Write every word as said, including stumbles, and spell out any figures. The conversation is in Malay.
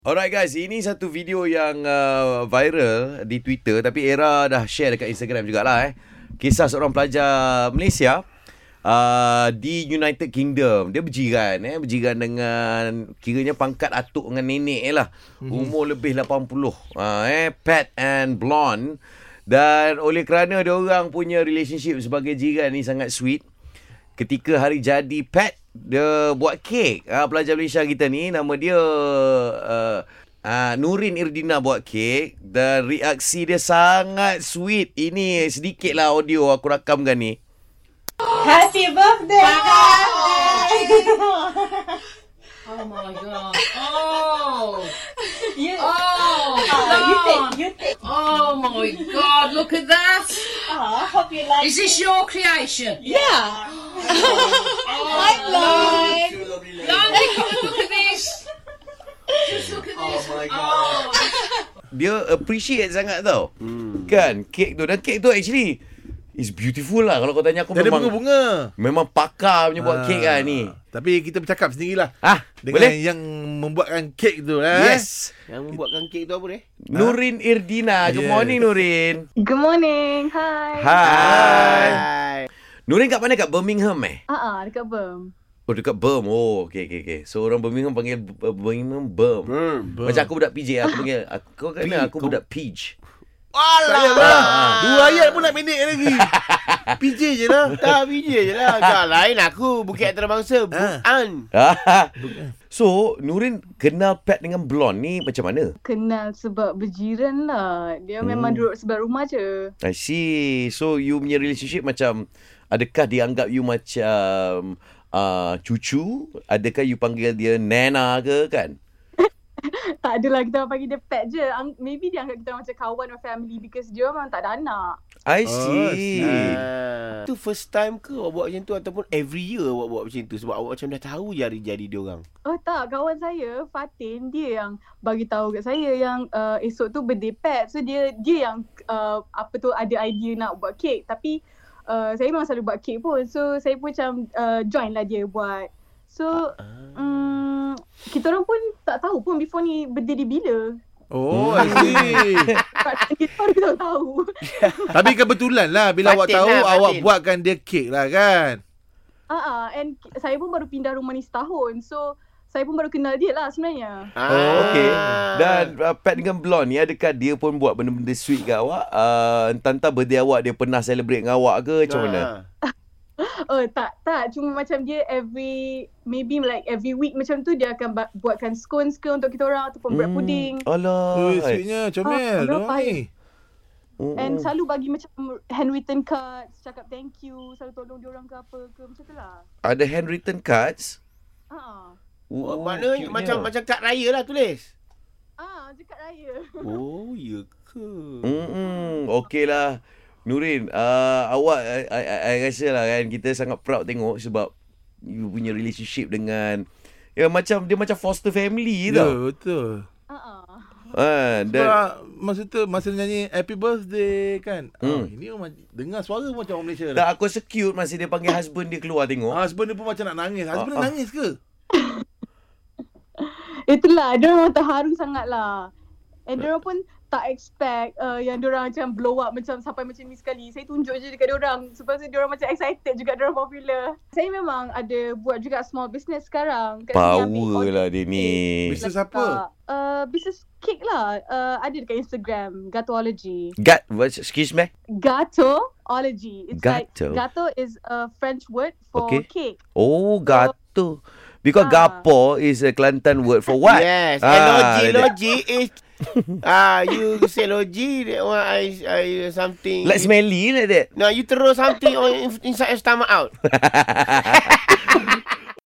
Alright guys, ini satu video yang uh, viral di Twitter, tapi Era dah share dekat Instagram jugalah eh. Kisah seorang pelajar Malaysia uh, di United Kingdom. Dia berjiran eh, berjiran dengan kiranya pangkat atuk dengan nenek eh lah. Mm-hmm. Umur lebih lapan puluh. Uh, eh, Pat and Blonde. Dan oleh kerana dia orang punya relationship sebagai jiran ni sangat sweet, ketika hari jadi Pat, dia buat kek. Ha, pelajar Malaysia kita ni, nama dia uh, uh, Nurin Irdina buat kek. Dan reaksi dia sangat sweet. Ini sedikitlah audio aku rakamkan ni. Happy birthday! Oh my god. Oh. You, Oh. uh, you take, you take. Oh my god, look at that. Uh, hope you like Is this your creation? Yeah. Oh, Hi, Blonde. Blondie, look at this. Just look at this. Oh my god. Dia appreciate sangat tau. Hmm. Kan, kek tu. Dan kek tu actually is beautiful lah. Kalau kau tanya aku, dia memang bunga-bunga. Memang pakar punya buat Ah. kek lah ni. Tapi kita bercakap sendirilah. Ah, Dengan boleh? yang membuatkan kek tu eh. Yes. Yang membuatkan kek tu apa ni? Nurin Irdina. Good Yes. morning Nurin. Good morning. Hi. Hai. Hai. Nurin kat mana? Kat Birmingham eh? Ah, uh-uh, dekat Birm. Oh, dekat Birm. Oh, okey, okey, okey. So, orang Birmingham panggil uh, Birmingham Birm. Hmm. Macam aku budak P J, aku panggil, aku, kau kena aku Kau- budak Peach. Alah. Ah. Dua ayat pun nak pendek lagi. P J je lah. Tak biji je lah. Tak lain aku. Bukit Antarabangsa. Bukan. So, Nurin kenal Pat dengan Blonde ni macam mana? Kenal sebab berjiran lah. Dia Hmm. memang duduk sebelah rumah je. I see. So, you punya relationship macam, adakah dianggap you macam uh, cucu? Adakah you panggil dia Nana ke kan? Tak adalah, kita orang panggil dia pet je. Ang- Maybe dia anggap kita orang macam kawan or family because dia memang tak ada anak. I Oh, see. Ah. Itu first time ke awak buat macam tu ataupun every year awak buat macam tu sebab awak macam dah tahu jari-jari dia orang. Oh tak, kawan saya, Fatin, dia yang bagi tahu kat saya yang uh, esok tu birthday pet. So dia dia yang uh, apa tu ada idea nak buat kek. Tapi uh, saya memang selalu buat kek pun. So saya pun macam uh, join lah dia buat. So um, kita orang pun tak tahu pun before ni birthday dia bila. Oh, I see. Kita baru kita tahu. Tapi kebetulan lah bila awak Fatin tahu lah, awak Fatin. buatkan dia kek lah kan. Ah, uh-uh, and ki- saya pun baru pindah rumah ni setahun. So saya pun baru kenal dia lah sebenarnya. Oh, okey. Dan uh, Pat dengan Blonde ni, adakah dia pun buat benda-benda sweet kat awak? Uh, entah-entah birthday awak dia pernah celebrate dengan awak ke macam mana? Oh tak, tak. Cuma macam dia every, maybe like every week macam tu dia akan ba- buatkan scones ke untuk kita orang ataupun bread pudding. Alah. Oh, sweetnya comel. Ah, Diorang berapa ni. Mm-mm. And selalu bagi macam handwritten cards, cakap thank you, selalu tolong dia orang ke apa ke macam tu lah. Ada handwritten cards? Ah. Oh, maknanya cute-nya. macam macam kad raya lah tulis. Ah, dekat raya. Oh, ya ke? Hmm, okey lah. Nurin, uh, awak, I, I, I rasa lah kan, kita sangat proud tengok sebab you punya relationship dengan, ya macam, dia macam foster family Ya, tau. betul. Ah. ah. Ha, dan, Sebab masa tu masa nyanyi Happy Birthday kan. Hmm. Oh, ini orang dengar suara pun macam orang Malaysia tak, dah. aku rasa cute masa dia panggil husband dia keluar tengok. Husband dia pun macam nak nangis. Husband Ah, ah. dia nangis ke? Itulah, dia orang terharu sangat lah. And dia orang pun tak expect uh, yang dia orang macam blow up macam sampai macam ni sekali. Saya tunjuk je dekat dia orang. Sebab tu dia orang macam excited juga dia orang popular. Saya memang ada buat juga small business sekarang. Kat sini ambil Power order lah dia ni. Bisnes dekat, apa? Uh, business cake lah. Uh, ada dekat Instagram, Gatology. Gat, what, excuse me? Gatology. It's Gato. like, gato is a French word for Okay. cake. Oh, gato. Because Ah. gapo is a Kelantan word for what? Yes. Ah, And logi, that- logi is ah, you say logi, that one I, I something. Like smelly like that. No, you throw something on inside your stomach out.